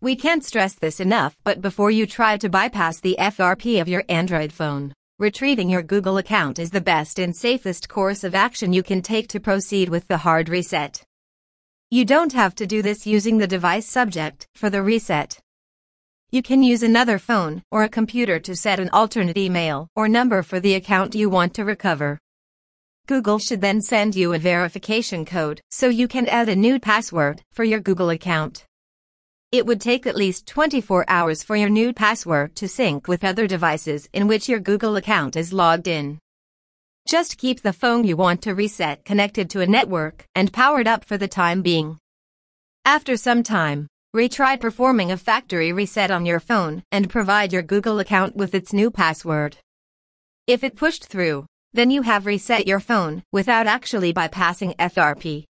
We can't stress this enough, but before you try to bypass the FRP of your Android phone, retrieving your Google account is the best and safest course of action you can take to proceed with the hard reset. You don't have to do this using the device subject for the reset. You can use another phone or a computer to set an alternate email or number for the account you want to recover. Google should then send you a verification code so you can add a new password for your Google account. It would take at least 24 hours for your new password to sync with other devices in which your Google account is logged in. Just keep the phone you want to reset connected to a network and powered up for the time being. After some time, retry performing a factory reset on your phone and provide your Google account with its new password. If it pushed through, then you have reset your phone without actually bypassing FRP.